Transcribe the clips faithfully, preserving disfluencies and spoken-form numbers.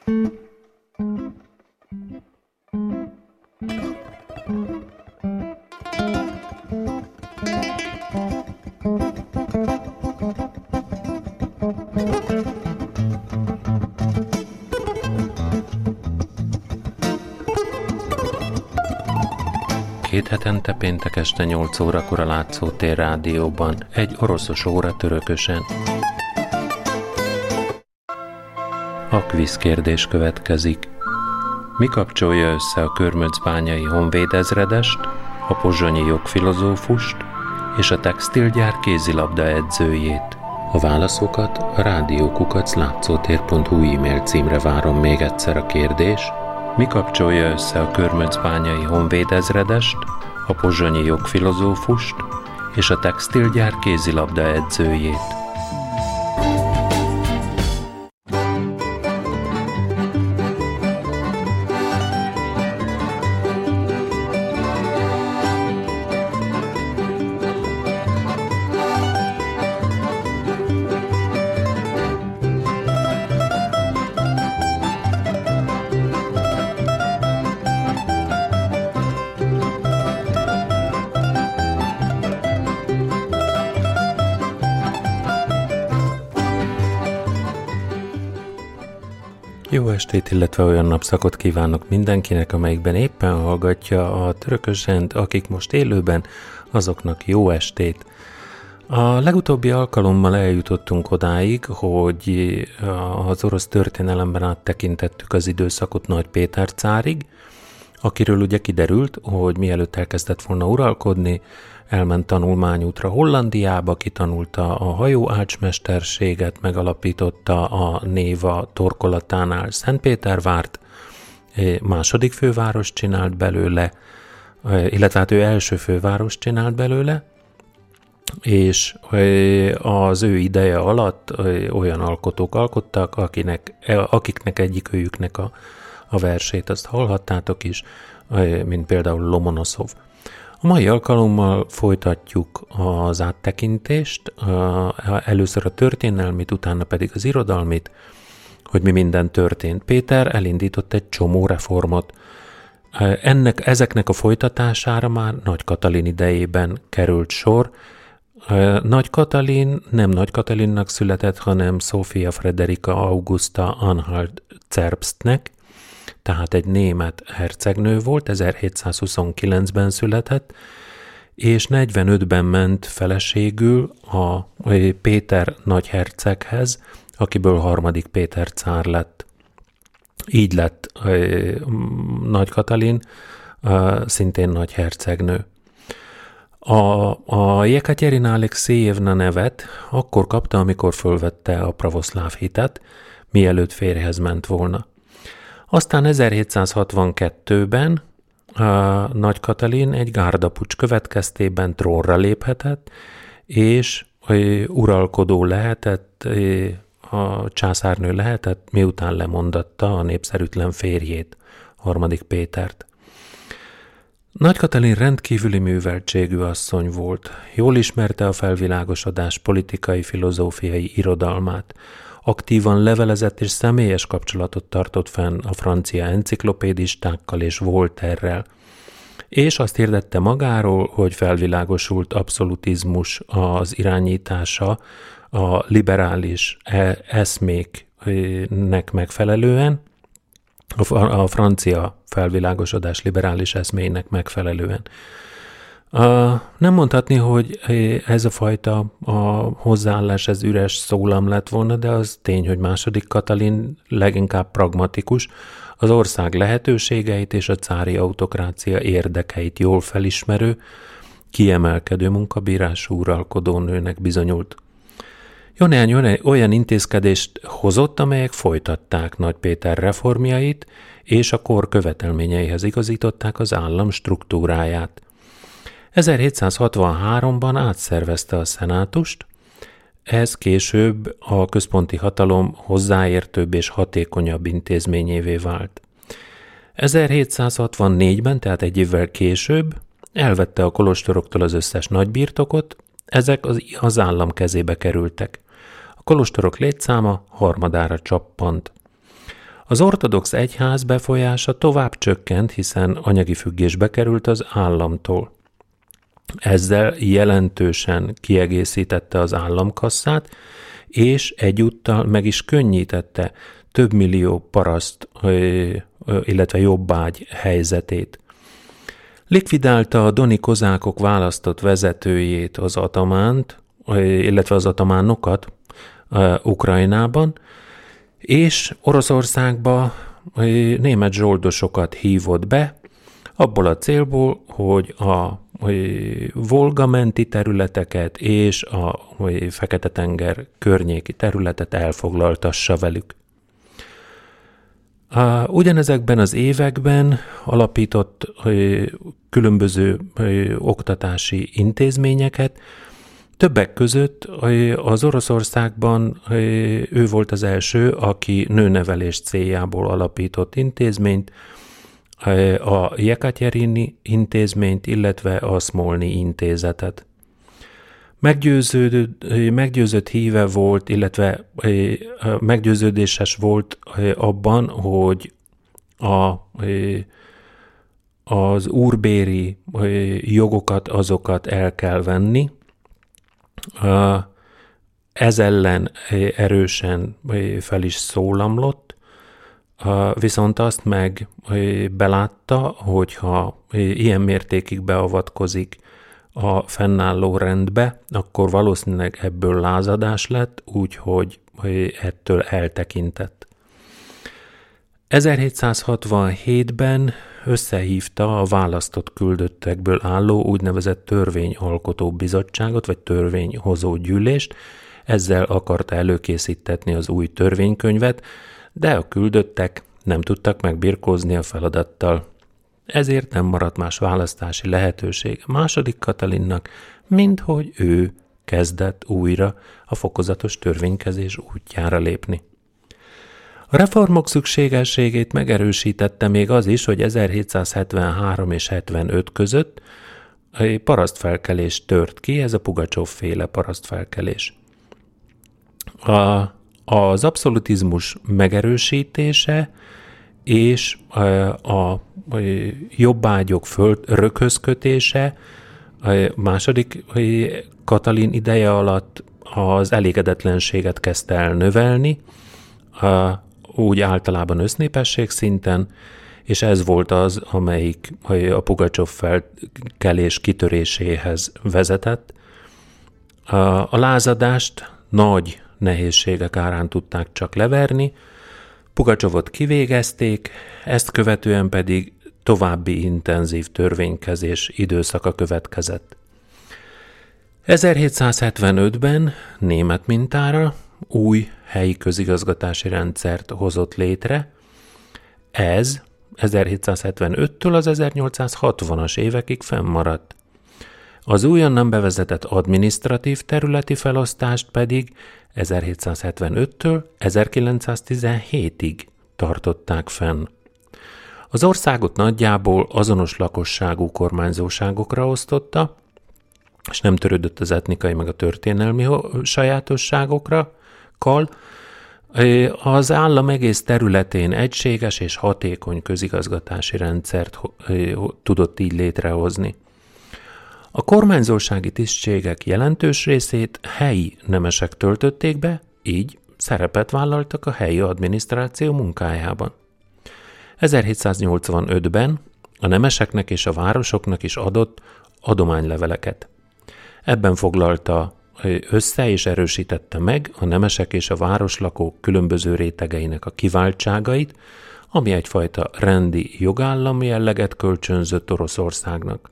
Két hetente péntek este nyolc órakor a Látszótér Rádióban, egy oroszos óra törökösen. A kvíz kérdés következik. Mi kapcsolja össze a körmöcbányai honvéd ezredest, a pozsonyi jogfilozófust és a textilgyár kézilabda edzőjét? A válaszokat a rádiókukac látszótér pont hu e-mail címre várom. Még egyszer a kérdés. Mi kapcsolja össze a körmöcbányai honvéd ezredest, a pozsonyi jogfilozófust és a textilgyár kézilabda edzőjét? Jó estét, illetve olyan napszakot kívánok mindenkinek, amelyikben éppen hallgatja a Törökös Zsend, akik most élőben, azoknak jó estét. A legutóbbi alkalommal eljutottunk odáig, hogy az orosz történelemben áttekintettük az időszakot Nagy Péter cárig, akiről ugye kiderült, hogy mielőtt elkezdett volna uralkodni, elment tanulmányútra Hollandiába, kitanulta a hajóácsmesterséget, megalapította a Néva torkolatánál Szentpétervárt, második főváros csinált belőle, illetve hát ő első főváros csinált belőle, és az ő ideje alatt olyan alkotók alkottak, akinek, akiknek egyikőjüknek a, a versét azt hallhattátok is, mint például Lomonoszov. A mai alkalommal folytatjuk az áttekintést, először a történelmit, utána pedig az irodalmit, hogy mi minden történt. Péter elindított egy csomó reformot. Ennek, ezeknek a folytatására már Nagy Katalin idejében került sor. Nagy Katalin nem Nagy Katalinnak született, hanem Sophia Frederika Augusta Anhalt-Zerbstnek, tehát egy német hercegnő volt, ezerhétszázhuszonkilencben született, és negyvenötben ment feleségül a Péter nagyherceghez, akiből harmadik Péter cár lett. Így lett Nagy Katalin, szintén nagyhercegnő. A, a Jekaterina Alekszejevna nevet akkor kapta, amikor fölvette a pravoszláv hitet, mielőtt férjhez ment volna. Aztán ezerhétszázhatvankettőben a Nagy Katalin egy gárdapuccs következtében trónra léphetett, és uralkodó lehetett, a császárnő lehetett, miután lemondatta a népszerűtlen férjét, harmadik Pétert. Nagy Katalin rendkívüli műveltségű asszony volt, jól ismerte a felvilágosodás politikai, filozófiai irodalmát, aktívan levelezett és személyes kapcsolatot tartott fenn a francia enciklopédistákkal és Voltaire-rel, és azt hirdette magáról, hogy felvilágosult abszolutizmus az irányítása a liberális eszméknek megfelelően, a francia felvilágosodás liberális eszméinek megfelelően. Uh, nem mondhatni, hogy ez a fajta a hozzáállás, ez üres szólam lett volna, de az tény, hogy második Katalin leginkább pragmatikus, az ország lehetőségeit és a cári autokrácia érdekeit jól felismerő, kiemelkedő munkabírású uralkodónőnek bizonyult. Jó néhány olyan intézkedést hozott, amelyek folytatták Nagy Péter reformjait, és a kor követelményeihez igazították az állam struktúráját. ezerhétszázhatvanháromban átszervezte a szenátust, ez később a központi hatalom hozzáértőbb és hatékonyabb intézményévé vált. ezerhétszázhatvannégyben, tehát egy évvel később elvette a kolostoroktól az összes nagybirtokot, ezek az, az állam kezébe kerültek. A kolostorok létszáma harmadára csappant. Az ortodox egyház befolyása tovább csökkent, hiszen anyagi függésbe került az államtól. Ezzel jelentősen kiegészítette az államkasszát, és egyúttal meg is könnyítette több millió paraszt, illetve jobbágy helyzetét. Likvidálta a doni kozákok választott vezetőjét, az atamánt, illetve az atamánokat Ukrajnában, és Oroszországba német zsoldosokat hívott be, abból a célból, hogy a Volga menti területeket és a Fekete-tenger környéki területet elfoglaltassa velük. Ugyanezekben az években alapított különböző oktatási intézményeket, többek között az Oroszországban ő volt az első, aki nőnevelés céljából alapított intézményt, a Jekaterinyi intézményt, illetve a Szmolni intézetet. Meggyőződött, meggyőzött híve volt, illetve meggyőződéses volt abban, hogy a, az úrbéri jogokat, azokat el kell venni. Ez ellen erősen fel is szólamlott, viszont azt meg belátta, hogyha ilyen mértékig beavatkozik a fennálló rendbe, akkor valószínűleg ebből lázadás lett, úgyhogy ettől eltekintett. ezerhétszázhatvanhétben összehívta a választott küldöttekből álló úgynevezett törvényalkotó bizottságot, vagy törvényhozó gyűlést, ezzel akarta előkészítetni az új törvénykönyvet, de a küldöttek nem tudtak megbirkózni a feladattal. Ezért nem maradt más választási lehetőség második Katalinnak, mint hogy ő kezdett újra a fokozatos törvénykezés útjára lépni. A reformok szükségességét megerősítette még az is, hogy ezerhétszázhetvenhárom és hetvenöt között egy parasztfelkelés tört ki, ez a Pugacsov-féle parasztfelkelés. A, az abszolutizmus megerősítése és a, a jobbágyok föld röghözkötése a második Katalin ideje alatt az elégedetlenséget kezdte el növelni, a, úgy általában össznépesség szinten, és ez volt az, amelyik a Pugacsov felkelés kitöréséhez vezetett. A, a lázadást nagy nehézségek árán tudták csak leverni, Pugacsovot kivégezték, ezt követően pedig további intenzív törvénykezés időszaka következett. ezerhétszázhetvenötben német mintára új helyi közigazgatási rendszert hozott létre. Ez ezerhétszázhetvenöttől az ezernyolcszázhatvanas évekig fennmaradt. Az újonnan bevezetett adminisztratív területi felosztást pedig ezerhétszázhetvenöttől ezerkilencszáztizenhétig tartották fenn. Az országot nagyjából azonos lakosságú kormányzóságokra osztotta, és nem törődött az etnikai meg a történelmi sajátosságokra, kal. Az állam egész területén egységes és hatékony közigazgatási rendszert tudott így létrehozni. A kormányzósági tisztségek jelentős részét helyi nemesek töltötték be, így szerepet vállaltak a helyi adminisztráció munkájában. ezerhétszáznyolcvanötben a nemeseknek és a városoknak is adott adományleveleket. Ebben foglalta össze és erősítette meg a nemesek és a városlakók különböző rétegeinek a kiváltságait, ami egyfajta rendi jogállami jelleget kölcsönzött Oroszországnak.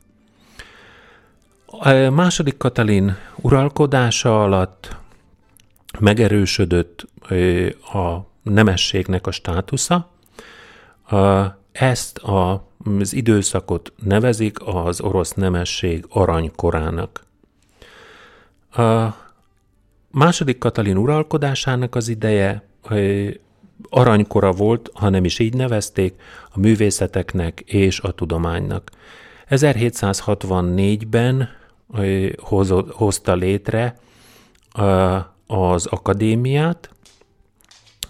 A második Katalin uralkodása alatt megerősödött a nemességnek a státusza. Ezt az időszakot nevezik az orosz nemesség aranykorának. A második Katalin uralkodásának az ideje aranykora volt, ha nem is így nevezték, a művészeteknek és a tudománynak. ezerhétszázhatvannégyben hozta létre az akadémiát,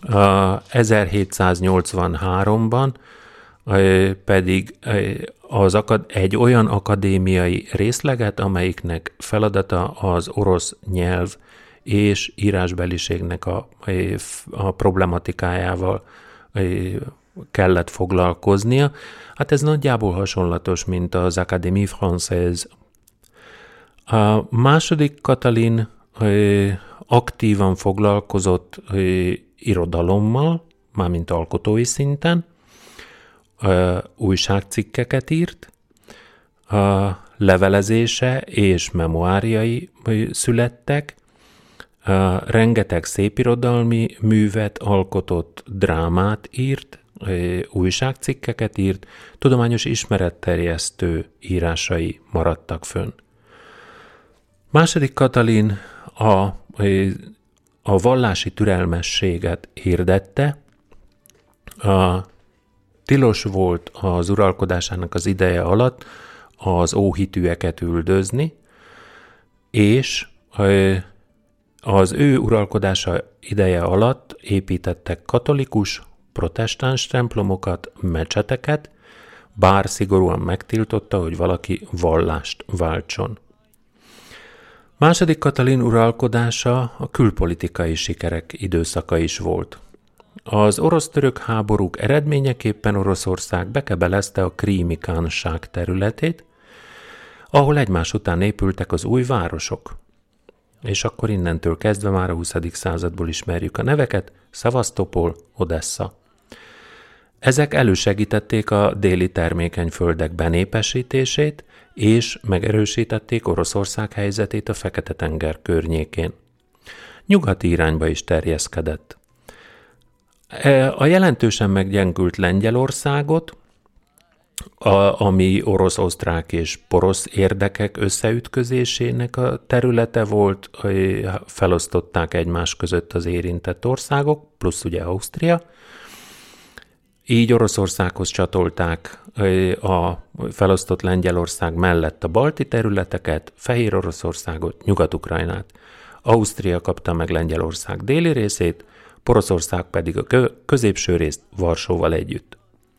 ezerhétszáznyolcvanháromban pedig az akad, egy olyan akadémiai részleget, amelyiknek feladata az orosz nyelv és írásbeliségnek a, a problematikájával kellett foglalkoznia. Hát ez nagyjából hasonlatos, mint az Académie Française. A második Katalin aktívan foglalkozott irodalommal, mármint alkotói szinten, újságcikkeket írt, a levelezése és memoáriai születtek, rengeteg szépirodalmi művet alkotott, drámát írt, újságcikkeket írt, tudományos ismeretterjesztő írásai maradtak fönn. Második Katalin a, a vallási türelmességet hirdette, a tilos volt az uralkodásának az ideje alatt az óhitűeket üldözni, és az ő uralkodása ideje alatt építettek katolikus, protestáns templomokat, mecseteket, bár szigorúan megtiltotta, hogy valaki vallást váltson. Második Katalin uralkodása a külpolitikai sikerek időszaka is volt. Az orosz-török háborúk eredményeképpen Oroszország bekebelezte a Krími kánság területét, ahol egymás után épültek az új városok. És akkor innentől kezdve már a huszadik századból ismerjük a neveket: Szevasztopol, Odessza. Ezek elősegítették a déli termékeny földek benépesítését, és megerősítették Oroszország helyzetét a Fekete-tenger környékén. Nyugati irányba is terjeszkedett. A jelentősen meggyengült Lengyelországot, a, ami orosz-osztrák és porosz érdekek összeütközésének a területe volt, felosztották egymás között az érintett országok, plusz ugye Ausztria. Így Oroszországhoz csatolták a felosztott Lengyelország mellett a balti területeket, Fehér Oroszországot, Nyugat-Ukrajnát. Ausztria kapta meg Lengyelország déli részét, Poroszország pedig a középső részt Varsóval együtt.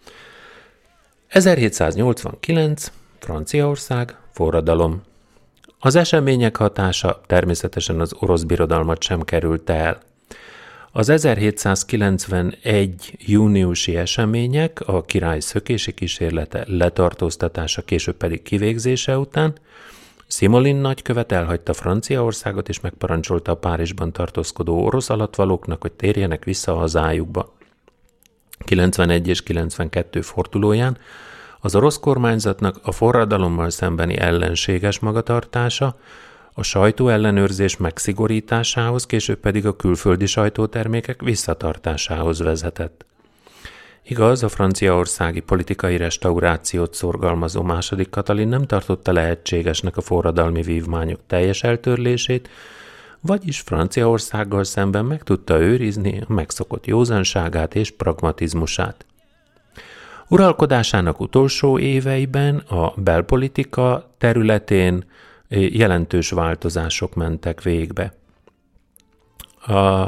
ezerhétszáznyolcvankilenc. Franciaország, forradalom. Az események hatása természetesen az orosz birodalmat sem került el. Az ezerhétszázkilencvenegy. júniusi események, a király szökési kísérlete, letartóztatása, később pedig kivégzése után Szimolin nagykövet elhagyta Franciaországot, és megparancsolta a Párizsban tartózkodó orosz alattvalóknak, hogy térjenek vissza a hazájukba. kilencvenegy és kilencvenkettő fordulóján az orosz kormányzatnak a forradalommal szembeni ellenséges magatartása a sajtóellenőrzés megszigorításához, később pedig a külföldi sajtótermékek visszatartásához vezetett. Igaz, a franciaországi politikai restaurációt szorgalmazó második Katalin nem tartotta lehetségesnek a forradalmi vívmányok teljes eltörlését, vagyis Franciaországgal szemben meg tudta őrizni a megszokott józanságát és pragmatizmusát. Uralkodásának utolsó éveiben a belpolitika területén jelentős változások mentek végbe. A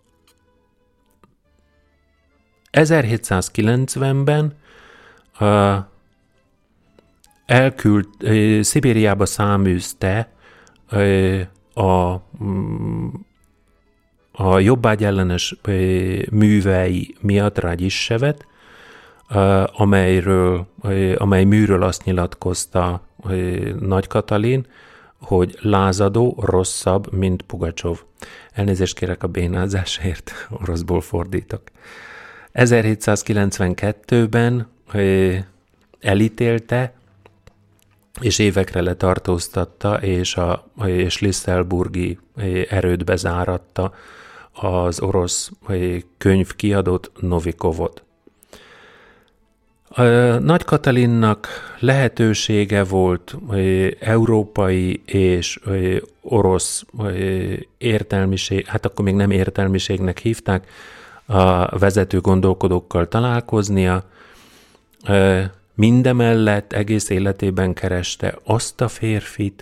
ezerhétszázkilencvenben a elküld, Szibériába száműzte a, a jobbágyellenes művei miatt Ragyissevet, amelyről, amely műről azt nyilatkozta Nagy Katalin, hogy lázadó, rosszabb, mint Pugacsov. Elnézést kérek a bénázásért, oroszból fordítok. ezerhétszázkilencvenkettőben elítélte, és évekre letartóztatta, és, a, és Lisztelburgi erődbe záratta az orosz könyvkiadót, Novikovot. A Nagy Katalinnak lehetősége volt európai és orosz értelmiség, hát akkor még nem értelmiségnek hívták, a vezető gondolkodókkal találkoznia. Mindemellett egész életében kereste azt a férfit,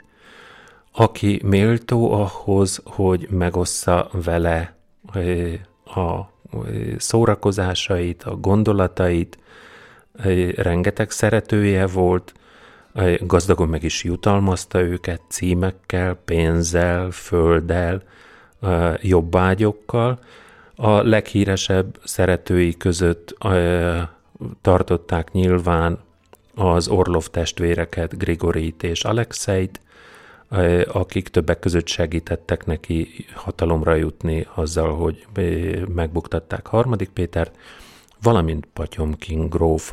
aki méltó ahhoz, hogy megossza vele a szórakozásait, a gondolatait, rengeteg szeretője volt, gazdagon meg is jutalmazta őket címekkel, pénzzel, földdel, jobbágyokkal. A leghíresebb szeretői között tartották nyilván az Orlov testvéreket, Grigorit és Alexeit, akik többek között segítettek neki hatalomra jutni azzal, hogy megbuktatták harmadik Pétert, valamint Potyomkin gróf.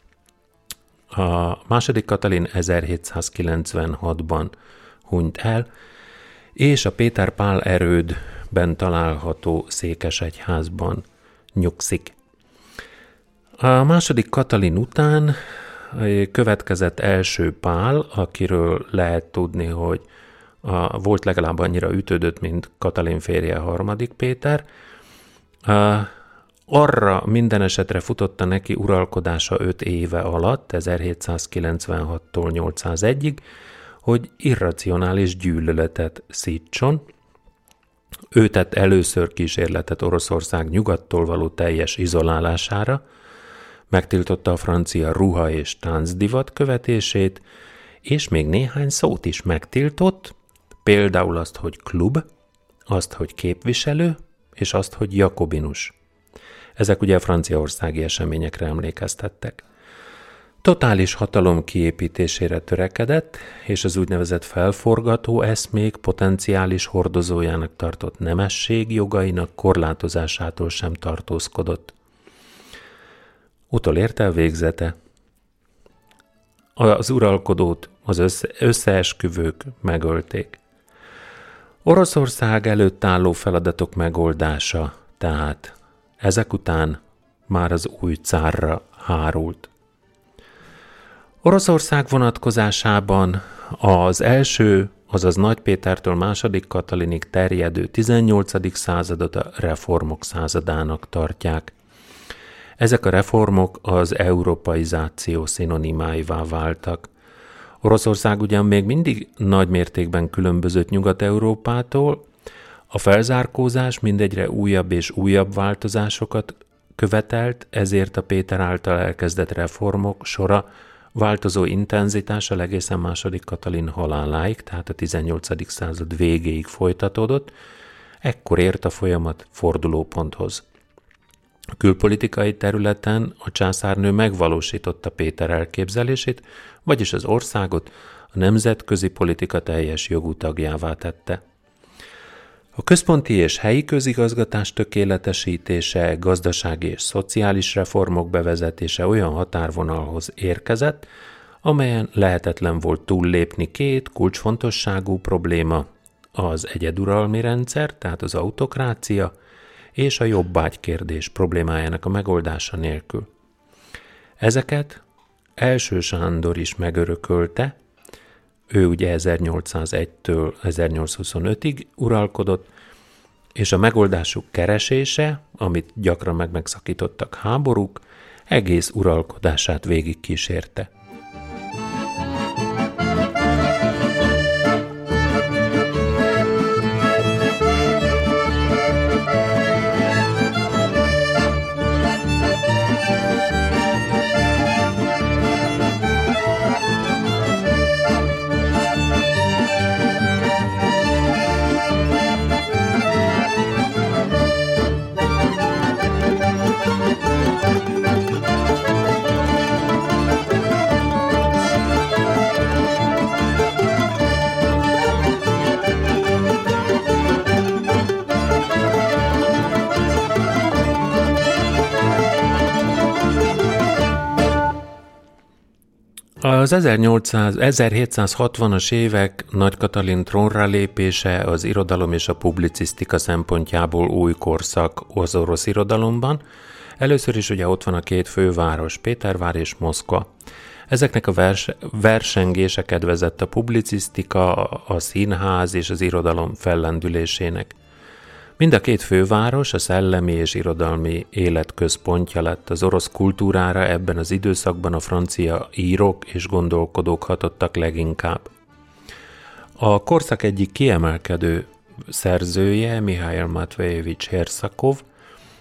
A második Katalin ezerhétszázkilencvenhatban hunyt el, és a Péter Pál erődben található székesegyházban nyugszik. A második Katalin után következett első Pál, akiről lehet tudni, hogy a, volt legalább annyira ütődött, mint Katalin férje harmadik Péter. A, arra minden esetre futotta neki uralkodása öt éve alatt, ezerhétszázkilencvenhattól nyolcszázegyig, hogy irracionális gyűlöletet szítson. Ő tett először kísérletet Oroszország nyugattól való teljes izolálására, megtiltotta a francia ruha és táncdivat követését, és még néhány szót is megtiltott, például azt, hogy klub, azt, hogy képviselő, és azt, hogy jakobinus. Ezek ugye a franciaországi eseményekre emlékeztettek. Totális hatalom kiépítésére törekedett, és az úgynevezett felforgató eszmék potenciális hordozójának tartott nemesség jogainak korlátozásától sem tartózkodott. Utolért el végzete. Az uralkodót az össze, összeesküvők megölték. Oroszország előtt álló feladatok megoldása, tehát ezek után már az új cárra hárult. Oroszország vonatkozásában az első, azaz Nagy Pétertől második Katalinig terjedő tizennyolcadik századot a reformok századának tartják. Ezek a reformok az európaizáció szinonimáivá váltak. Oroszország ugyan még mindig nagy mértékben különbözött Nyugat-Európától, a felzárkózás mindegyre újabb és újabb változásokat követelt, ezért a Péter által elkezdett reformok sora változó intenzitással egészen második Katalin haláláig, tehát a tizennyolcadik század végéig folytatódott, ekkor ért a folyamat fordulóponthoz. A külpolitikai területen a császárnő megvalósította Péter elképzelését, vagyis az országot a nemzetközi politika teljes jogú tagjává tette. A központi és helyi közigazgatás tökéletesítése, gazdasági és szociális reformok bevezetése olyan határvonalhoz érkezett, amelyen lehetetlen volt túllépni két kulcsfontosságú probléma, az egyeduralmi rendszer, tehát az autokrácia, és a jobbágykérdés problémájának a megoldása nélkül. Ezeket Első Sándor is megörökölte, ő ugye ezernyolcszázegytől ezernyolcszázhuszonötig uralkodott, és a megoldásuk keresése, amit gyakran meg megszakítottak háborúk, egész uralkodását végigkísérte. Az ezerhétszázhatvanas évek Nagy Katalin trónra lépése az irodalom és a publicisztika szempontjából új korszak az orosz irodalomban. Először is ugye ott van a két főváros, Pétervár és Moszkva. Ezeknek a vers- versengése kedvezett a publicisztika, a színház és az irodalom fellendülésének. Mind a két főváros a szellemi és irodalmi élet központja lett. Az orosz kultúrára ebben az időszakban a francia írók és gondolkodók hatottak leginkább. A korszak egyik kiemelkedő szerzője, Mihail Matvejevics Herszakov,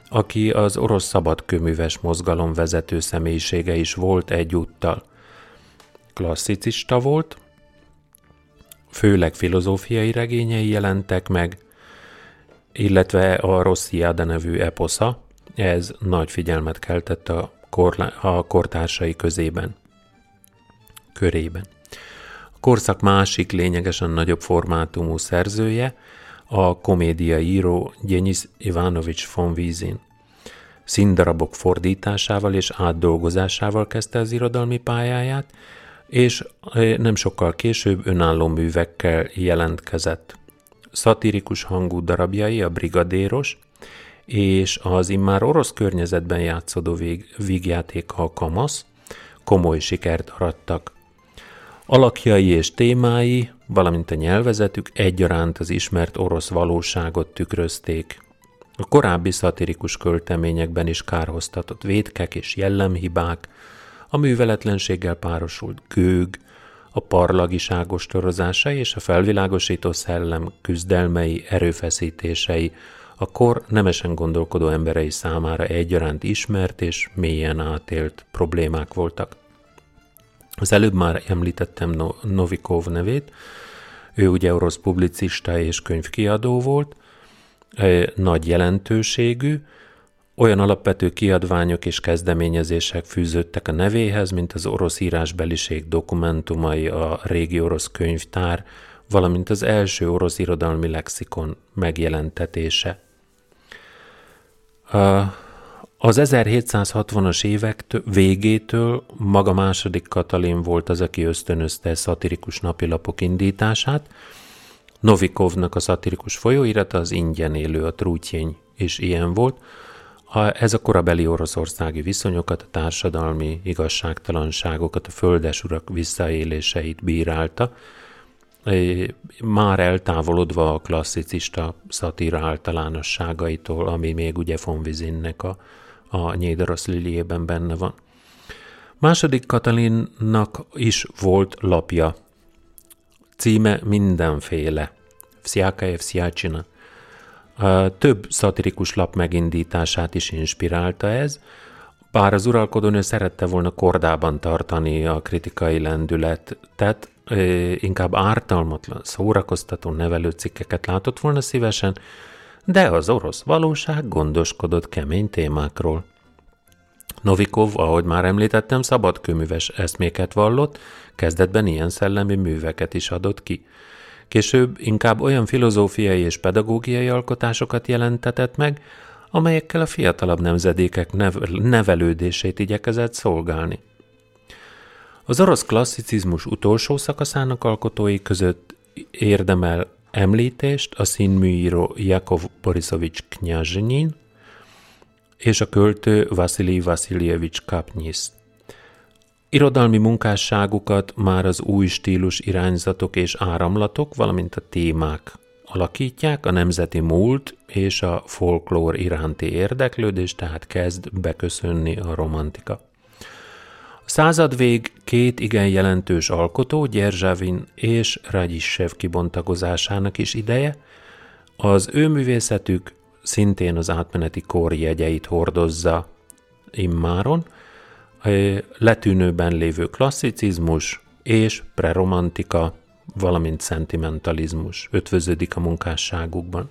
aki az orosz szabadkőműves mozgalom vezető személyisége is volt egyúttal. Klasszicista volt, főleg filozófiai regényei jelentek meg, illetve a Rossziáda nevű eposza, ez nagy figyelmet keltett a, korla- a kortársai közében, körében. A korszak másik lényegesen nagyobb formátumú szerzője a komédiai író Denis Ivanovics von Wisin. Színdarabok fordításával és átdolgozásával kezdte az irodalmi pályáját, és nem sokkal később önálló művekkel jelentkezett. Szatirikus hangú darabjai a Brigadéros és az immár orosz környezetben játszódó vég, vígjátéka a Kamasz komoly sikert arattak. Alakjai és témái, valamint a nyelvezetük egyaránt az ismert orosz valóságot tükrözték. A korábbi szatirikus költeményekben is kárhoztatott vétkek és jellemhibák, a műveletlenséggel párosult gőg, a parlagiság ostorozása és a felvilágosító szellem küzdelmei, erőfeszítései a kor nemesen gondolkodó emberei számára egyaránt ismert és mélyen átélt problémák voltak. Az előbb már említettem Novikov nevét, ő ugye orosz publicista és könyvkiadó volt, nagy jelentőségű, olyan alapvető kiadványok és kezdeményezések fűződtek a nevéhez, mint az orosz írásbeliség dokumentumai, a régi orosz könyvtár, valamint az első orosz irodalmi lexikon megjelentetése. Az ezerhétszázhatvanas évek végétől maga második Katalin volt az, aki ösztönözte szatirikus napilapok indítását. Novikovnak a szatirikus folyóirata az Ingyen élő, a Trútyény is ilyen volt. Ez a korabeli oroszországi viszonyokat, a társadalmi igazságtalanságokat, a földesurak visszaéléseit bírálta, már eltávolodva a klasszicista szatíra általánosságaitól, ami még ugye von Wisinnek a, a Nyédarosz Liljében benne van. Második Katalinnak is volt lapja. Címe Mindenféle. Vsjákaje vsjácsina. Több szatirikus lap megindítását is inspirálta ez, bár az uralkodónő szerette volna kordában tartani a kritikai lendületet, inkább ártalmatlan, szórakoztató nevelőcikkeket látott volna szívesen, de az orosz valóság gondoskodott kemény témákról. Novikov, ahogy már említettem, szabadkőműves eszméket vallott, kezdetben ilyen szellemi műveket is adott ki. Később inkább olyan filozófiai és pedagógiai alkotásokat jelentetett meg, amelyekkel a fiatalabb nemzedékek nevelődését igyekezett szolgálni. Az orosz klasszicizmus utolsó szakaszának alkotói között érdemel említést a színműíró Jakov Borisovics Knyazsnyin és a költő Vasilij Vasiljevics Kapnyisz. Irodalmi munkásságukat már az új stílus irányzatok és áramlatok, valamint a témák alakítják, a nemzeti múlt és a folklór iránti érdeklődés, tehát kezd beköszönni a romantika. A századvég két igen jelentős alkotó, Gyerzsavin és Radzsissev kibontakozásának is ideje, az ő művészetük szintén az átmeneti kor jegyeit hordozza immáron, letűnőben lévő klasszicizmus és preromantika, valamint szentimentalizmus ötvöződik a munkásságukban.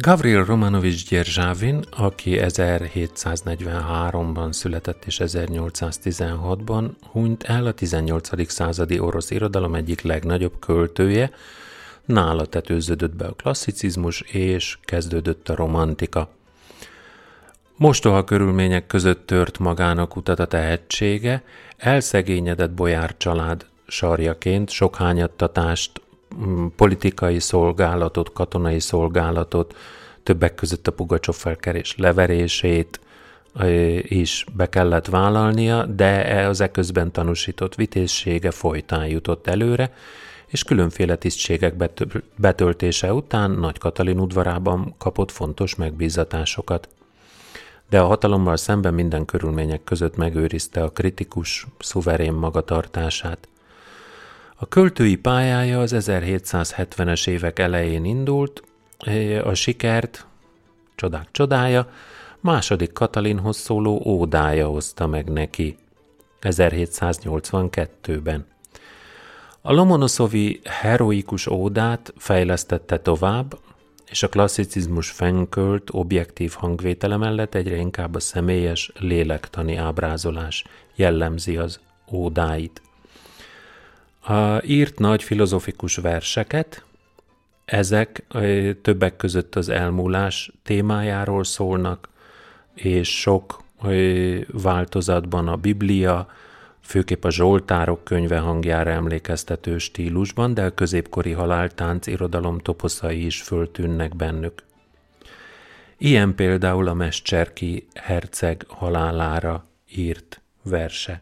Gavril Romanovics Dzserzsávin, aki ezerhétszáznegyvenháromban született és ezernyolcszáztizenhatban hunyt el, a tizennyolcadik századi orosz irodalom egyik legnagyobb költője, nála tetőződött be a klasszicizmus és kezdődött a romantika. Mostoha körülmények között tört magának utat a tehetsége, elszegényedett bojár család sarjaként sok hányattatást, politikai szolgálatot, katonai szolgálatot, többek között a Pugacsov-felkelés leverését is be kellett vállalnia, de az eközben tanúsított vitézsége folytán jutott előre, és különféle tisztségek betöltése után Nagy Katalin udvarában kapott fontos megbízatásokat. De a hatalommal szemben minden körülmények között megőrizte a kritikus, szuverén magatartását. A költői pályája az ezerhétszázhetvenes évek elején indult, a sikert, csodák csodája, második Katalinhoz szóló ódája hozta meg neki ezerhétszáznyolcvankettőben. A Lomonoszovi heroikus ódát fejlesztette tovább, és a klasszicizmus fennkölt, objektív hangvétele mellett egyre inkább a személyes, lélektani ábrázolás jellemzi az ódáit. A írt nagy filozofikus verseket, ezek többek között az elmúlás témájáról szólnak, és sok változatban a Biblia, főképp a Zsoltárok könyve hangjára emlékeztető stílusban, de a középkori haláltánc irodalom toposzai is föltűnnek bennük. Ilyen például a Mesterki herceg halálára írt verse.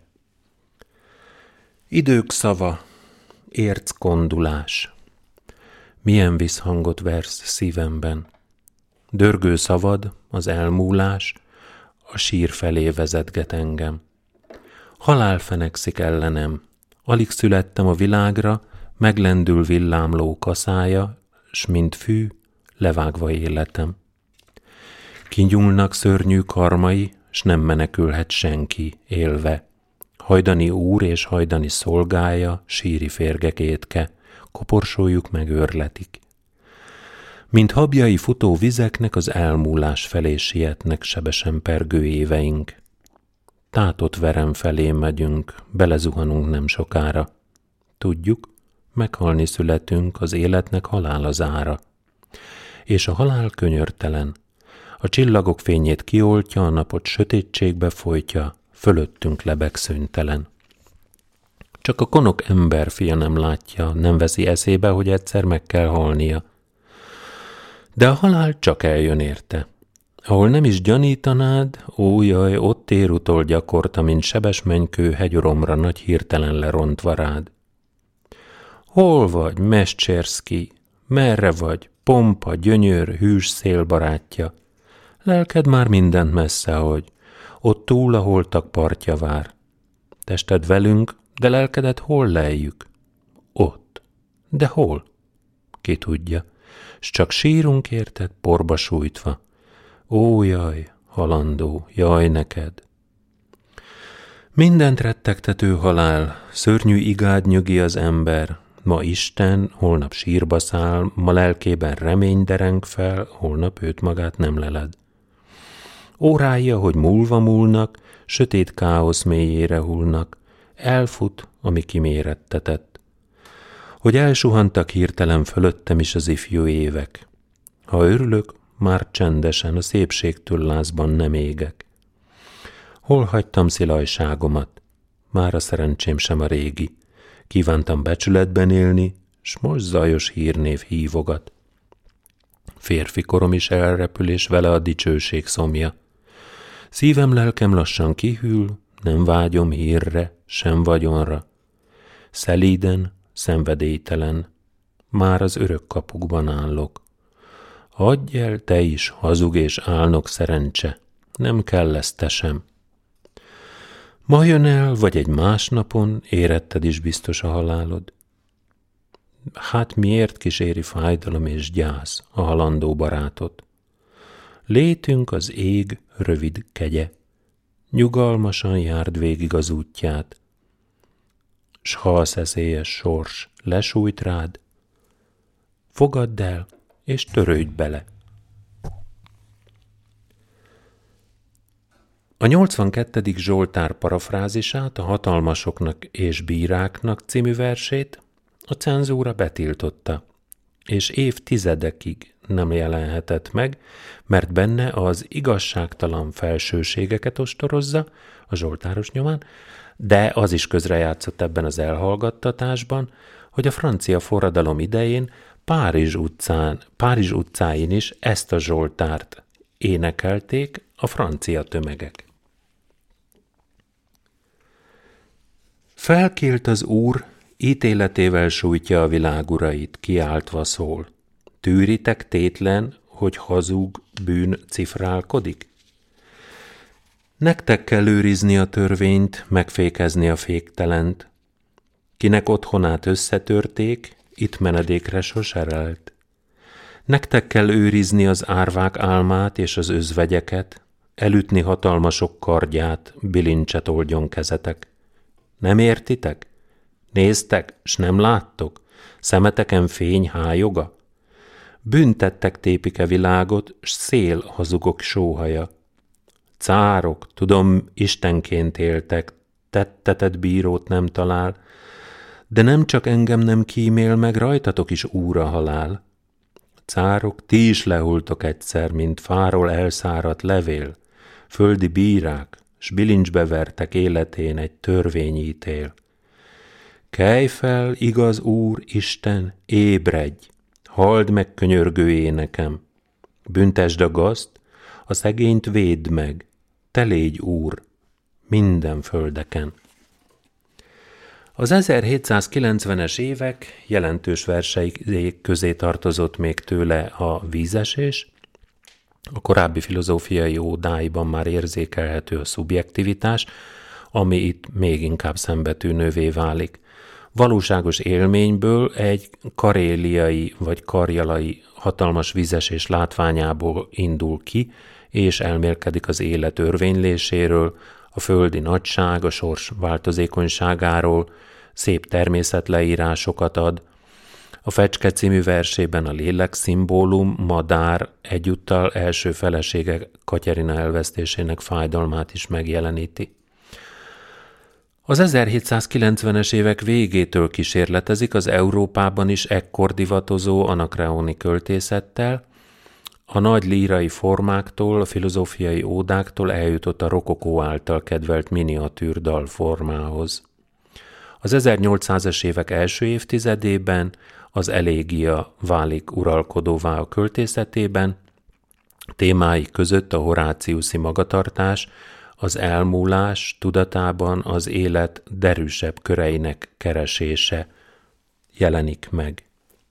Idők szava, érckondulás. Milyen visszhangot versz szívemben. Dörgő szavad, az elmúlás, a sír felé vezetget engem. Halál fenekszik ellenem, alig születtem a világra, meglendül villámló kaszája, s mint fű, levágva életem. Kinyúlnak szörnyű karmai, s nem menekülhet senki élve. Hajdani úr és hajdani szolgája, síri férgek étke, koporsójuk megőrletik. Mint habjai futó vizeknek az elmúlás felé sietnek sebesen pergő éveink. Tátott verem felé megyünk, belezuhanunk nem sokára. Tudjuk, meghalni születünk, az életnek halál az ára. És a halál könyörtelen. A csillagok fényét kioltja, a napot sötétségbe folytja, fölöttünk lebeg szüntelen. Csak a konok emberfia nem látja, nem veszi eszébe, hogy egyszer meg kell halnia. De a halál csak eljön érte. Ahol nem is gyanítanád, ó jaj, ott ér utol gyakorta, mint sebes menykő hegyoromra nagy hirtelen lerontva rád. Hol vagy, Mesterszki? Merre vagy, pompa, gyönyör, hűs szél barátja? Lelked már mindent messze hagy, ott túl a holtak partja vár. Tested velünk, de lelkedet hol lejjük? Ott. De hol? Ki tudja, s csak sírunk érted, porba sújtva. Ó, jaj, halandó, jaj neked! Mindent rettegtető halál, szörnyű igád nyögi az ember, ma Isten, holnap sírba száll, ma lelkében remény dereng fel, holnap őt magát nem leled. Órái, ahogy múlva múlnak, sötét káosz mélyére hullnak, elfut, ami kimérettetett. Hogy elsuhantak hirtelen fölöttem is az ifjú évek. Ha örülök, már csendesen a szépségtől lázban nem égek. Hol hagytam szilajságomat? Már a szerencsém sem a régi. Kívántam becsületben élni, s most zajos hírnév hívogat. Férfi korom is elrepül, és vele a dicsőség szomja. Szívem, lelkem lassan kihűl, nem vágyom hírre, sem vagyonra. Szelíden, szenvedélytelen, már az örök kapukban állok. Adj el te is, hazug és álnok szerencse, nem kell ezt te sem. Ma jön el, vagy egy más napon, éretted is biztos a halálod. Hát miért kíséri fájdalom és gyász a halandó barátot? Létünk az ég rövid kegye, nyugalmasan járd végig az útját, s ha a szeszélyes sors lesújt rád, fogadd el és törődj bele. A nyolcvankettedik Zsoltár parafrázisát, a Hatalmasoknak és bíráknak című versét a cenzúra betiltotta, és évtizedekig nem jelenhetett meg, mert benne az igazságtalan felsőségeket ostorozza a zsoltáros nyomán, de az is közrejátszott ebben az elhallgattatásban, hogy a francia forradalom idején Párizs utcán, Párizs utcáin is ezt a zsoltárt énekelték a francia tömegek. Felkélt az Úr, ítéletével sújtja a világ urait, kiáltva szól. Tűritek tétlen, hogy hazug bűn cifrálkodik? Nektek kell őrizni a törvényt, megfékezni a féktelent. Kinek otthonát összetörték, itt menedékre sose lelt. Nektek kell őrizni az árvák álmát és az özvegyeket, elütni hatalmasok kardját, bilincset oldjon kezetek. Nem értitek? Néztek, s nem láttok? Szemeteken fény hájoga? Büntettek tépike világot, s szél hazugok sóhaja. Cárok, tudom, istenként éltek, tettetet bírót nem talál, de nem csak engem nem kímél meg, rajtatok is úr a halál. Cárok, ti is lehultok egyszer, mint fáról elszáradt levél, földi bírák, s bilincsbe vertek életén egy törvényítél. Kelj fel, igaz Úr, Isten, ébredj, halld meg könyörgő énekem, büntesd a gazd, a szegényt védd meg, te légy Úr, minden földeken. Az ezerhétszázkilencvenes évek jelentős verseik közé tartozott még tőle a Vízesés, a korábbi filozófiai ódáiban már érzékelhető a szubjektivitás, ami itt még inkább szembetűnővé válik. Valóságos élményből, egy karéliai vagy karjalai hatalmas vízesés látványából indul ki, és elmélkedik az élet örvényléséről, a földi nagyság, a sors változékonyságáról, szép természetleírásokat ad. A Fecske című versében a lélek szimbólum, madár egyúttal első felesége Katyarina elvesztésének fájdalmát is megjeleníti. Az ezerhétszázkilencvenes évek végétől kísérletezik az Európában is ekkor divatozó anakreoni költészettel, a nagy lírai formáktól, a filozófiai ódáktól eljutott a rokokó által kedvelt miniatűr dalformához. Az ezernyolcszázas évek első évtizedében az elégia válik uralkodóvá a költészetében, témái között a horáciuszi magatartás, az elmúlás tudatában az élet derűsebb köreinek keresése jelenik meg.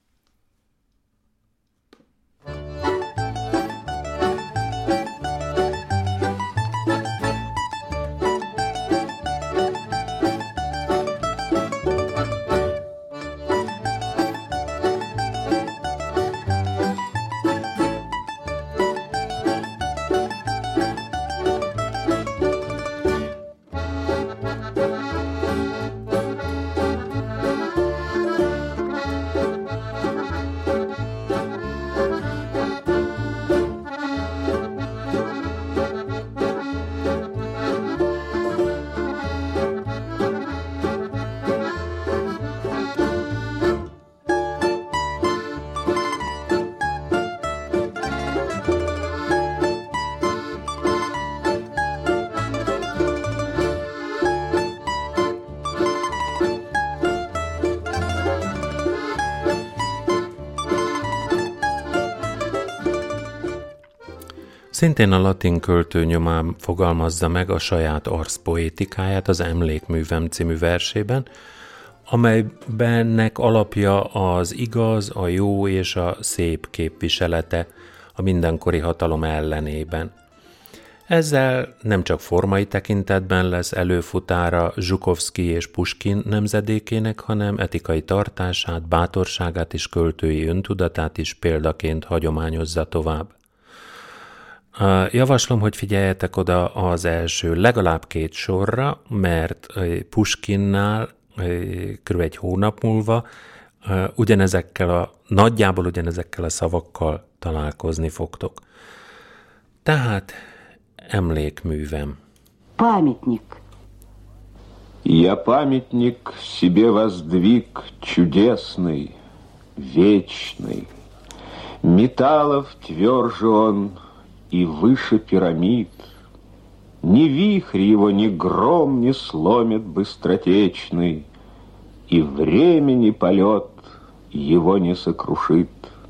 Szintén a latin költő nyomán fogalmazza meg a saját arszpoétikáját az Emlékművem című versében, amelybennek alapja az igaz, a jó és a szép képviselete a mindenkori hatalom ellenében. Ezzel nem csak formai tekintetben lesz előfutára Zsukovszky és Puskin nemzedékének, hanem etikai tartását, bátorságát és költői öntudatát is példaként hagyományozza tovább. Javaslom, hogy figyeljetek oda az első legalább két sorra, mert Puskinnál kb. Egy hónap múlva ugyanezekkel a, nagyjából ugyanezekkel a szavakkal találkozni fogtok. Tehát Emlékművem. памятник. Я памятник себе воздвиг чудесный, вечный. Металлов тверже он и выше пирамид. Ни вихрь его, ни гром не сломит быстротечный, и времени полет его не сокрушит.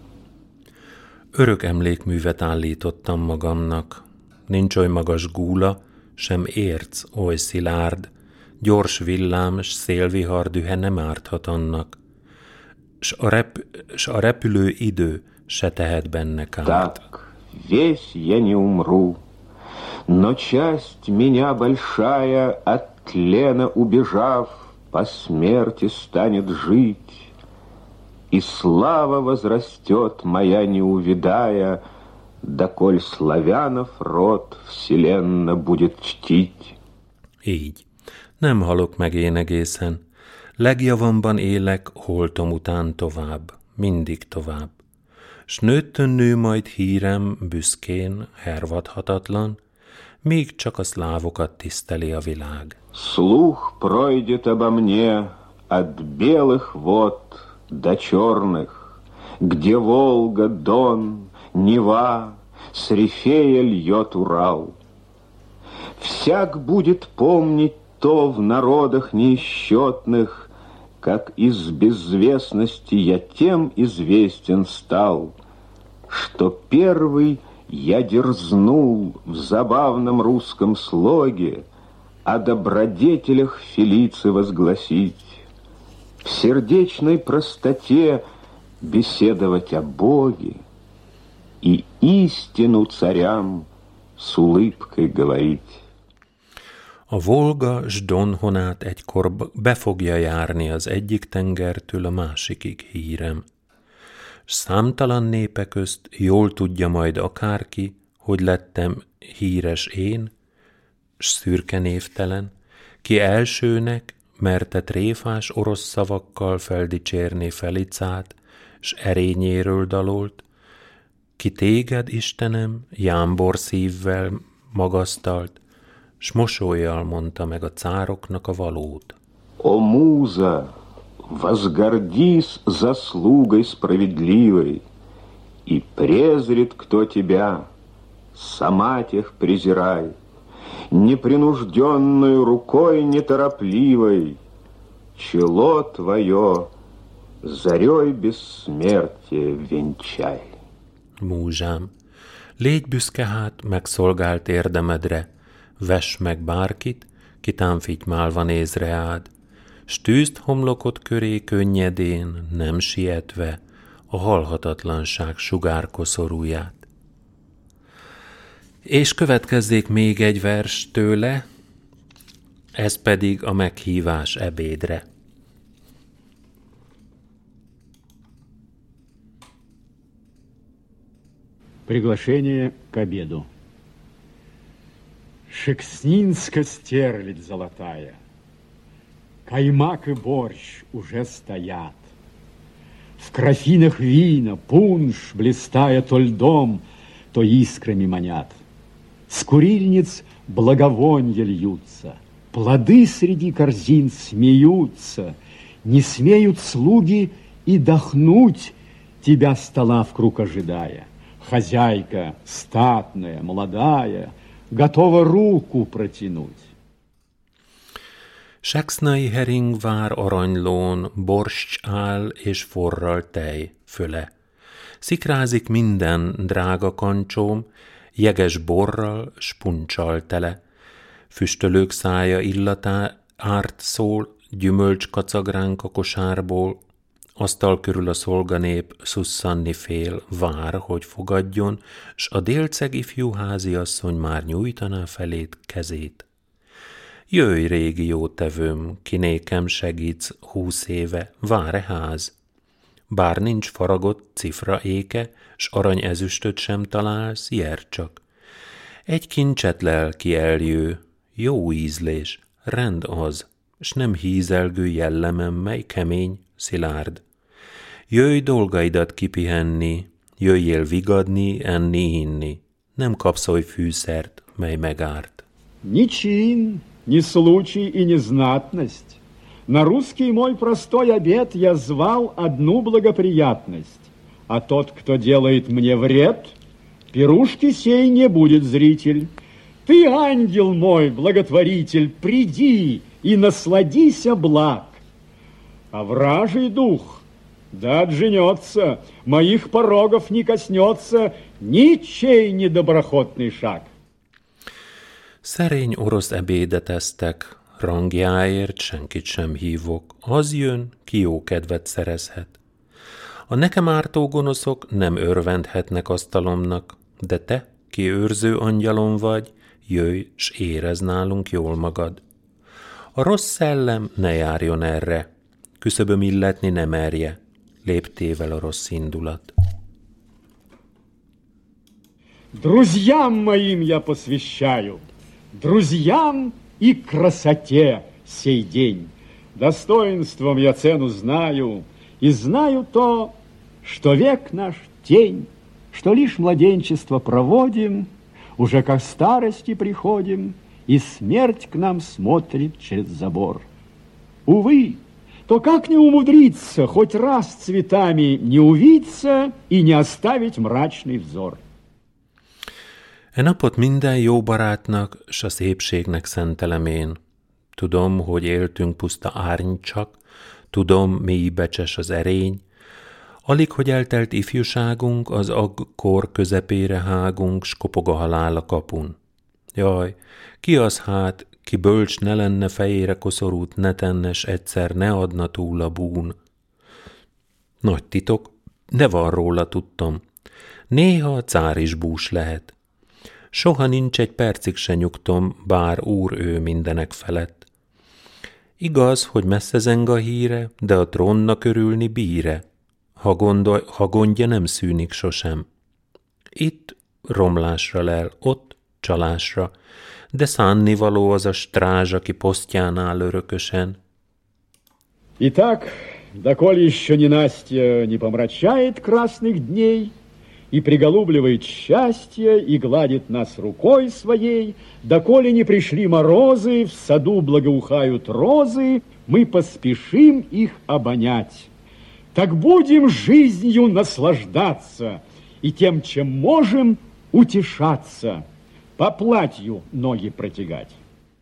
Örök emlékművet állítottam magamnak. Nincs oly magas gúla, sem érc oly szilárd, gyors villám, s szélvihar dühe nem árthat annak, s a, rep- s a repülő idő se tehet benne kárt. Так, весь я не умру, но часть меня большая, от тлена убежав, по смерти станет жить, и слава возрастет моя, не увядая, доколь славянов род вселенно будет чтить. Így. Nem halok meg én egészen. Legjavamban élek, holtom után tovább, mindig tovább. S nőttön nő majd hírem, büszkén, hervadhatatlan, még csak a szlávokat tiszteli a világ. Слух пройдет обо мне от белых вод до черных, где Волга, Дон, Нева, с Рифея льет Урал. Всяк будет помнить то в народах неисчетных, как из безвестности я тем известен стал, что первый я дерзнул в забавном русском слоге о добродетелях Фелицы возгласить, в сердечной простоте беседовать о Боге и истину царям с улыбкой говорить. A Volga s Don honát egykor be fogja járni az egyik tengertől a másikig hírem. S számtalan népe közt jól tudja majd akárki, hogy lettem híres én, s szürke névtelen, ki elsőnek merte tréfás orosz szavakkal feldicsérni Felicát, s erényéről dalolt, ki téged, Istenem, jámbor szívvel magasztalt, s mosollyal mondta meg a cároknak a valót. О, муза, возгордись заслугой справедливой, и презрит кто тебя, сама тех презирай, непринужденную рукой неторопливой, чело твое зарей bessmertje венчай. Múzsám, légy büszke hát megszolgált érdemedre, vess meg bárkit, ki támfitymálva néz reád, s tűzd homlokod köré könnyedén, nem sietve, a halhatatlanság sugárkoszorúját. És következzék még egy vers tőle, ez pedig a meghívás ebédre. Приглашение к обеду. Шекснинска стерлядь золотая, каймак и борщ уже стоят. В графинах вина, пунш, блистая то льдом, то искрами манят. С курильниц благовонья льются, плоды среди корзин смеются, не смеют слуги и дохнуть, тебя стола вкруг ожидая. Хозяйка, статная, молодая, готова руku протянуть. Seksznai hering vár aranylón, borscs áll és forral tej föle. Szikrázik minden drága kancsóm, jeges borral, s punccsal tele. Füstölők szája illatá árt szól, gyümölcs kacag ránk a kosárból, asztal körül a szolganép szusszanni fél, vár, hogy fogadjon, s a délceg ifjú háziasszony már nyújtaná felét kezét. Jöjj, régi jótevőm, ki nékem segítsz húsz éve, vár-e ház? Bár nincs faragott cifra éke, s arany ezüstöt sem találsz, jár csak. Egy kincset lelki eljő, jó ízlés, rend az, s nem hízelgő jellemem, mely kemény, szilárd. Jöjj dolgaidat kipihenni, jöjjél vigadni, enni, inni, nem kapsz oly fűszert, mely megárt. Ни чин, ни случай и ни знатность. На русский мой простой обет я звал одну благоприятность. А тот, кто делает мне вред, пирушки сей не будет зритель. Ты, ангел мой, благотворитель, приди и насладися благ. А вражий дух, да отженется, моих порогов не коснется ничей недоброхотный шаг. Szerény orosz ebédet esztek, rangjáért senkit sem hívok. Az jön, ki jó kedvet szerezhet. A nekem ártó gonoszok nem örvendhetnek asztalomnak, de te, ki őrző angyalom vagy, jöjj, s érezd nálunk jól magad. A rossz szellem ne járjon erre, küszöböm illetni ne merje, léptével a rossz indulat. Друзьям моим я посвящаю, друзьям и красоте сей день. Достоинством я цену знаю, и знаю то, что век наш тень, что лишь младенчество проводим, уже ко старости приходим, и смерть к нам смотрит через забор. Увы, то как не умудриться хоть раз цветами не увиться и не оставить мрачный взор? E napot minden jó barátnak, s a szépségnek szentelem én. Tudom, hogy éltünk puszta árny csak, tudom, mély becses az erény. Alig, hogy eltelt ifjúságunk, az agkor közepére hágunk, s kopog a halál a kapun. Jaj, ki az hát, ki bölcs ne lenne, fejére koszorút ne tenne, s egyszer ne adna túl a bún. Nagy titok, de van róla tudtam. Néha a cár is bús lehet. Soha nincs egy percig se nyugtom, bár úr ő mindenek felett. Igaz, hogy messze zeng a híre, de a trónnak örülni bíre, ha, gondol, ha gondja nem szűnik sosem. Itt romlásra lel, ott csalásra, de szánnivaló az a strázs, aki posztján áll örökösen. Итак, доколе еще ненастье не помрачает красных дней, и приголубливает счастье, и гладит нас рукой своей, доколе не пришли морозы, в саду благоухают розы, мы поспешим их обонять. Так будем жизнью наслаждаться, и тем, чем можем, утешаться, по платью ноги протягать.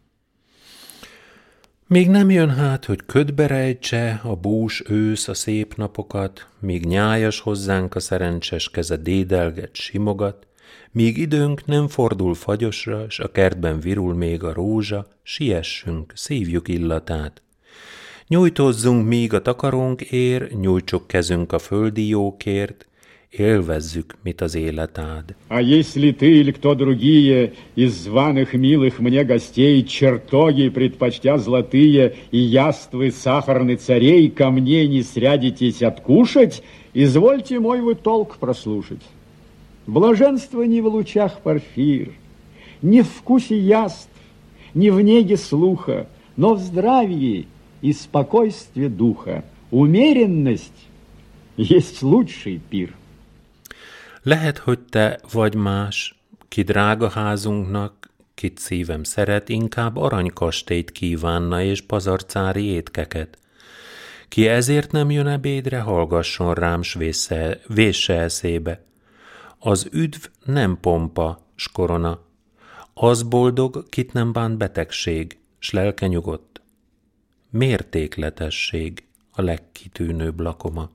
Még nem jön hát, hogy ködbe rejtse a bús ősz a szép napokat, míg nyájas hozzánk a szerencses keze dédelget, simogat, míg időnk nem fordul fagyosra, s a kertben virul még a rózsa, siessünk, szívjuk illatát. Nyújtózzunk, míg a takarónk ér, nyújtsuk kezünk a földi jókért, élvezzük, mit az élet ád. А если ты или кто другие из званых милых мне гостей чертоги, предпочтя золотые, и яствы сахарны царей, ко мне не срядитесь откушать, извольте мой вы толк прослушать. Блаженство не в лучах порфир, не в вкусе яств, не в неге слуха, но в здравии и спокойстве духа. Умеренность есть лучший пир. Lehet, hogy te vagy más, ki drága házunknak, kit szívem szeret, inkább aranykastélyt kívánna és pazarcári étkeket. Ki ezért nem jön ebédre, hallgasson rám, s vésse, vésse eszébe. Az üdv nem pompa, s korona. Az boldog, kit nem bánt betegség, s lelke nyugodt. Mértékletesség a legkitűnőbb lakoma.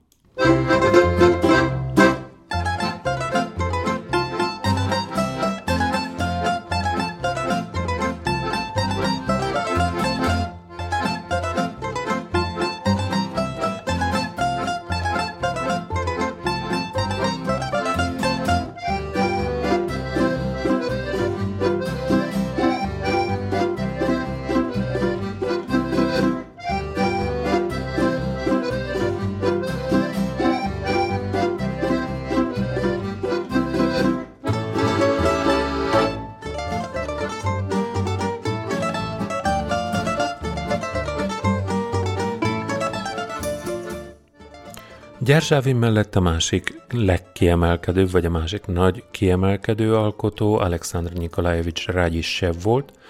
Gyerzsávin mellett a másik legkiemelkedőbb, vagy a másik nagy kiemelkedő alkotó Alekszandr Nikolajevics Radzsiszev volt,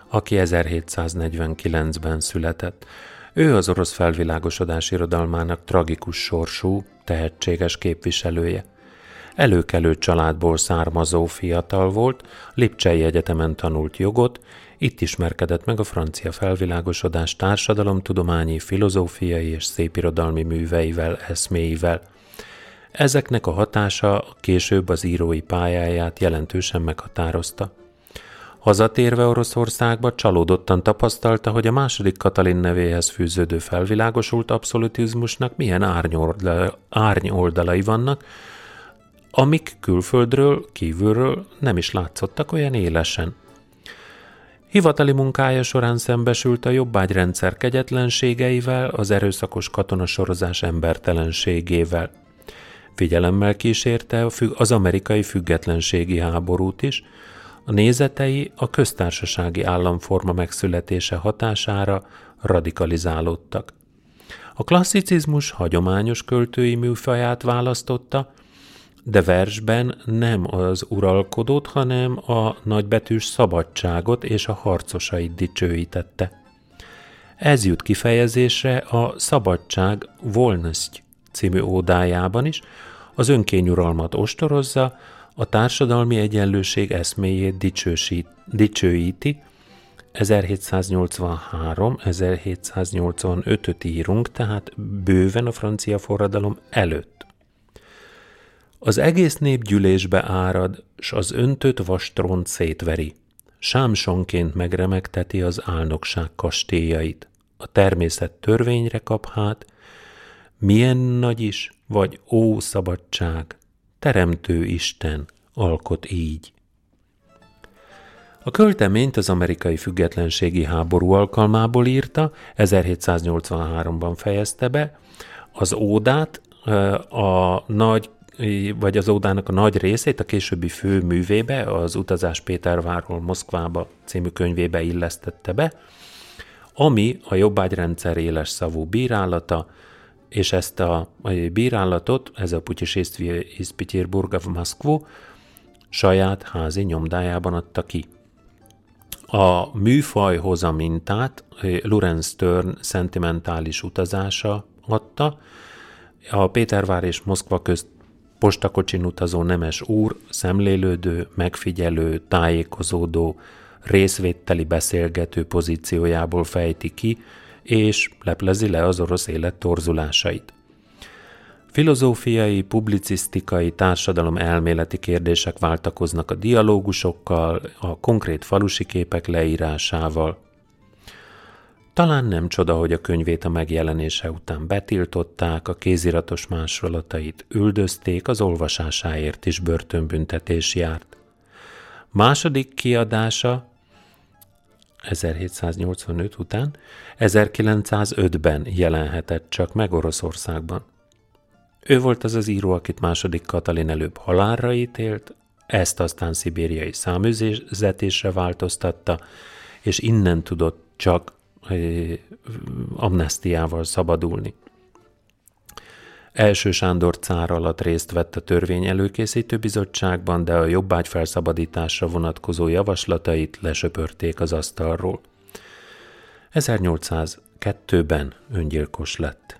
aki ezerhétszáznegyvenkilencben született. Ő az orosz felvilágosodás irodalmának tragikus sorsú, tehetséges képviselője. Előkelő családból származó fiatal volt, Lipcsei Egyetemen tanult jogot, itt ismerkedett meg a francia felvilágosodás társadalomtudományi, filozófiai és szépirodalmi műveivel, eszméivel. Ezeknek a hatása később az írói pályáját jelentősen meghatározta. Hazatérve Oroszországba csalódottan tapasztalta, hogy a második Katalin nevéhez fűződő felvilágosult abszolutizmusnak milyen árnyoldalai vannak, amik külföldről, kívülről nem is látszottak olyan élesen. Hivatali munkája során szembesült a jobbágyrendszer kegyetlenségeivel, az erőszakos katonasorozás embertelenségével. Figyelemmel kísérte az amerikai függetlenségi háborút is, a nézetei a köztársasági államforma megszületése hatására radikalizálódtak. A klasszicizmus hagyományos költői műfaját választotta, de versben nem az uralkodót, hanem a nagybetűs szabadságot és a harcosait dicsőítette. Ez jut kifejezésre a Szabadság Volnosty című ódájában is, az önkényuralmat ostorozza, a társadalmi egyenlőség eszméjét dicsősít, dicsőíti, ezerhétszáznyolcvanhárom ezerhétszáznyolcvanötöt írunk, tehát bőven a francia forradalom előtt. Az egész nép gyűlésbe árad, s az öntött vastrónt szétveri. Sámsonként megremegteti az álnokság kastélyait. A természet törvényre kap hát, milyen nagy is, vagy ó szabadság, teremtő Isten alkot így. A költeményt az amerikai függetlenségi háború alkalmából írta, ezerhétszáznyolcvanháromban fejezte be, az ódát, a nagy, vagy az ódának a nagy részét a későbbi fő művébe, az Utazás Pétervárról Moszkvába című könyvébe illesztette be, ami a jobbágyrendszer éles szavú bírálata, és ezt a bírálatot, ez a Putyesésztvi iz Peterburga v Moszkvu saját házi nyomdájában adta ki. A műfajhoz a mintát Laurence Sterne szentimentális utazása adta, a Pétervár és Moszkva közt postakocsin utazó nemes úr, szemlélődő, megfigyelő, tájékozódó, részvételi beszélgető pozíciójából fejti ki, és leplezi le az orosz élet torzulásait. Filozófiai, publicisztikai, társadalom elméleti kérdések váltakoznak a dialógusokkal, a konkrét falusi képek leírásával. Talán nem csoda, hogy a könyvét a megjelenése után betiltották, a kéziratos másolatait üldözték, az olvasásáért is börtönbüntetés járt. Második kiadása ezerhétszáznyolcvanöt után ezerkilencszázötben jelenhetett csak meg Oroszországban. Ő volt az az író, akit második Katalin előbb halálra ítélt, ezt aztán szibériai száműzetésre változtatta, és innen tudott csak amnesztiával szabadulni. Első Sándor cár alatt részt vett a törvény előkészítő bizottságban, de a jobbágy felszabadításra vonatkozó javaslatait lesöpörték az asztalról. ezernyolcszázkettőben öngyilkos lett.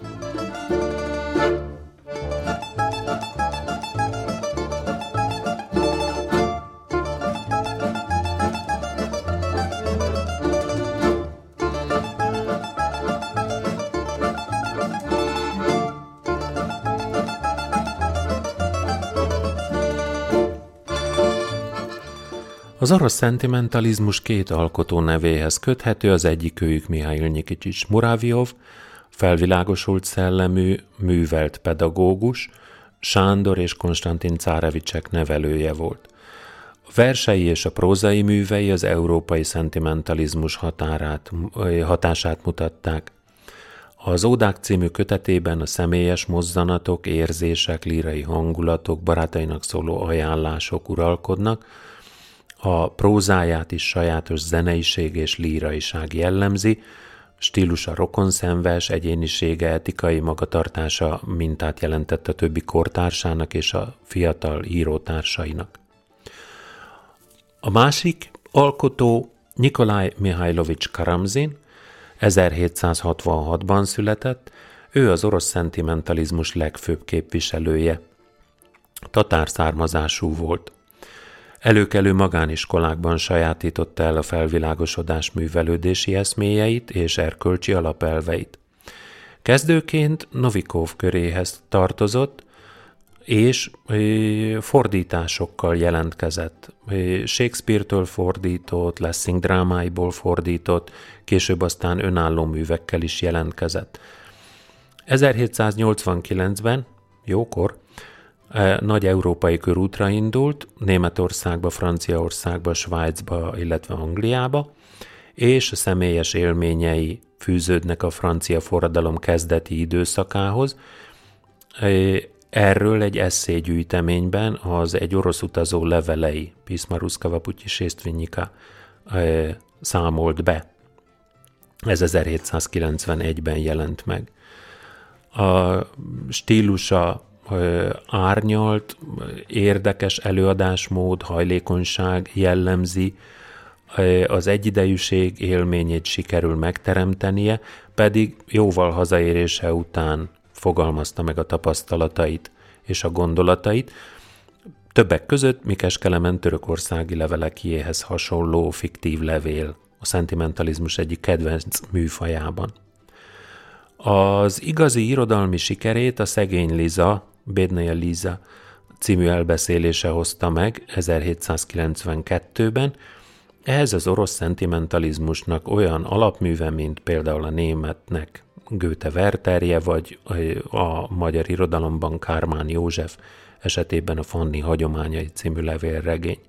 Az orosz szentimentalizmus két alkotó nevéhez köthető, az egyikőjük Mihail Nyikicsics Muravjov, felvilágosult szellemű, művelt pedagógus, Sándor és Konstantin Cárevicsek nevelője volt. A versei és a prózai művei az európai szentimentalizmus határát, hatását mutatták. Az Ódák című kötetében a személyes mozzanatok, érzések, lírai hangulatok, barátainak szóló ajánlások uralkodnak, a prózáját is sajátos zeneiség és líraiság jellemzi, stílusa rokonszenves, egyénisége, etikai magatartása mintát jelentett a többi kortársának és a fiatal írótársainak. A másik alkotó Nikolaj Mihajlovics Karamzin ezerhétszázhatvanhatban született, ő az orosz szentimentalizmus legfőbb képviselője. Tatár származású volt. Előkelő magániskolákban sajátította el a felvilágosodás művelődési eszméjeit és erkölcsi alapelveit. Kezdőként Novikov köréhez tartozott, és fordításokkal jelentkezett. Shakespeare-től fordított, Lessing drámáiból fordított, később aztán önálló művekkel is jelentkezett. ezerhétszáznyolcvankilencben, jókor, nagy európai körútra indult, Németországba, Franciaországba, Svájcba, illetve Angliába, és a személyes élményei fűződnek a francia forradalom kezdeti időszakához. Erről egy esszégyűjteményben az Egy orosz utazó levelei, Pisma Ruszkava Putyiséstvényika számolt be. Ez ezerhétszázkilencvenegyben jelent meg. A stílusa árnyalt, érdekes előadásmód, hajlékonyság jellemzi, az egyidejűség élményét sikerül megteremtenie, pedig jóval hazaérése után fogalmazta meg a tapasztalatait és a gondolatait, többek között Mikes Kelemen törökországi levelekéhez hasonló fiktív levél, a szentimentalizmus egyik kedvenc műfajában. Az igazi irodalmi sikerét a Szegény Liza, Bédnaja Liza című elbeszélése hozta meg ezerhétszázkilencvenkettőben, ehhez az orosz szentimentalizmusnak olyan alapműve, mint például a németnek Goethe Wertherje, vagy a magyar irodalomban Kármán József esetében a Fanni hagyományai című levélregény.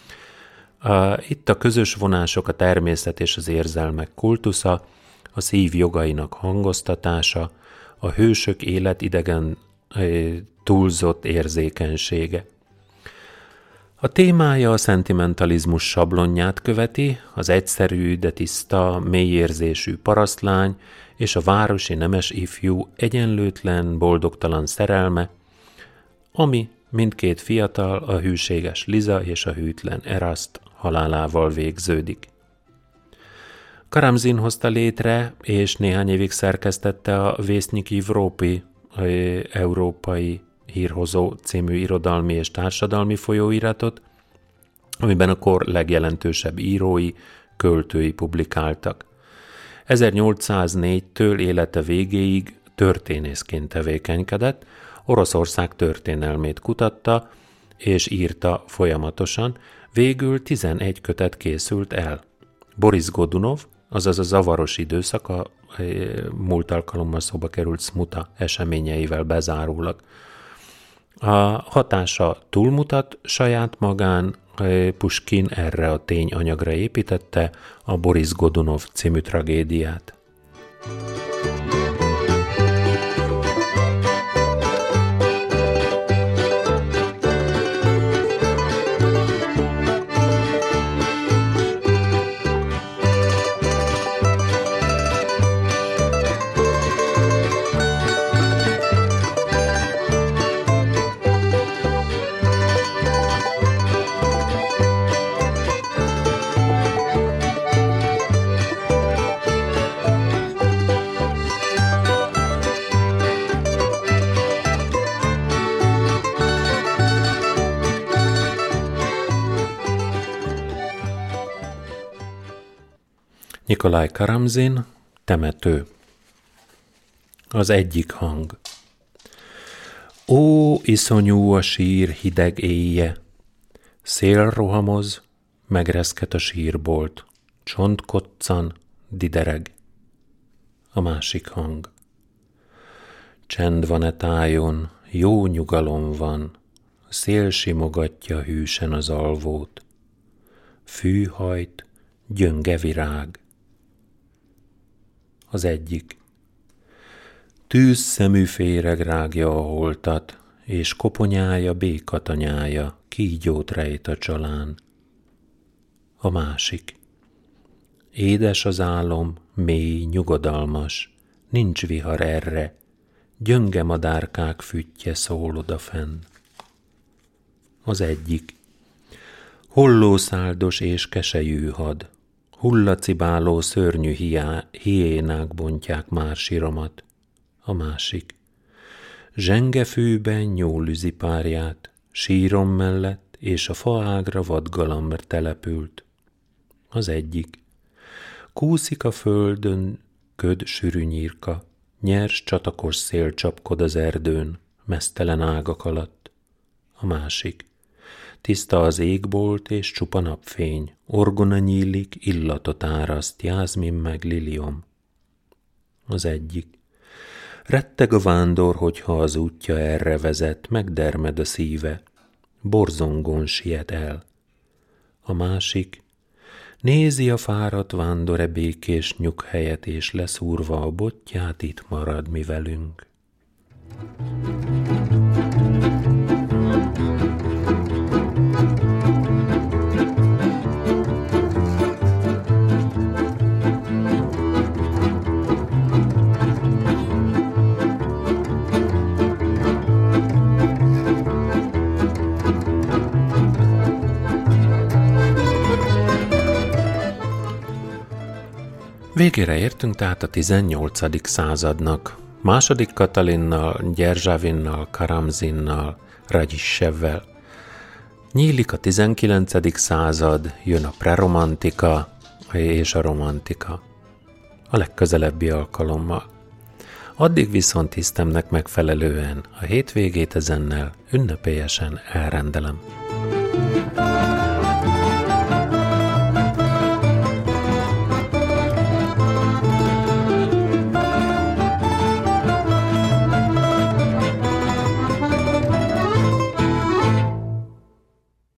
Itt a közös vonások, a természet és az érzelmek kultusza, a szív jogainak hangoztatása, a hősök életidegen túlzott érzékenysége. A témája a szentimentalizmus sablonját követi, az egyszerű, de tiszta, mélyérzésű parasztlány és a városi nemes ifjú egyenlőtlen, boldogtalan szerelme, ami mindkét fiatal, a hűséges Liza és a hűtlen Eraszt halálával végződik. Karamzin hozta létre, és néhány évig szerkesztette a Vészniki Vrópi európai hírhozó című irodalmi és társadalmi folyóiratot, amiben a kor legjelentősebb írói, költői publikáltak. ezernyolcszáznégytől élete végéig történészként tevékenykedett, Oroszország történelmét kutatta és írta folyamatosan, végül tizenegy kötet készült el. Boris Godunov, azaz a zavaros időszak, a múlt alkalommal szóba került Smuta eseményeivel bezárólag. A hatása túlmutat saját magán, Puskin erre a tényanyagra építette a Boris Godunov című tragédiát. Nikolaj Karamzin, Temető. Az egyik hang. Ó, iszonyú a sír hideg éjje, szél rohamoz, megreszket a sírbolt, csont koccan, didereg. A másik hang. Csend van e tájon, jó nyugalom van, szél simogatja hűsen az alvót, fű hajt, gyönge virág. Az egyik. Tűzszemű féreg rágja a holtat, és koponyája békatanyája kígyót rejt a csalán. A másik. Édes az álom, mély, nyugodalmas, nincs vihar erre, gyönge madárkák füttye szól odafenn. Az egyik. Hollószáldos és keselyű had, Hullacibáló szörnyű hiá, hiénák bontják már síromat. A másik. Zsengefűben nyúlüzi párját, sírom mellett és a faágra vadgalamb települt. Az egyik. Kúszik a földön köd sűrű nyírka, nyers csatakos szél csapkod az erdőn, meztelen ágak alatt. A másik. Tiszta az égbolt és csupa napfény, orgona nyílik, illatot áraszt, jázmin meg liliom. Az egyik. Retteg a vándor, hogyha az útja erre vezet, megdermed a szíve, borzongon siet el. A másik. Nézi a fáradt vándor e békés nyughelyet, és leszúrva a botját itt marad mi velünk. Végére értünk tehát a tizennyolcadik századnak. Második Katalinnal, Gyerzsavinnal, Karamzinnal, Radzsissevvel. Nyílik a tizenkilencedik század, jön a preromantika és a romantika. A legközelebbi alkalommal. Addig viszont hisztemnek megfelelően a hétvégét ezennel ünnepélyesen elrendelem.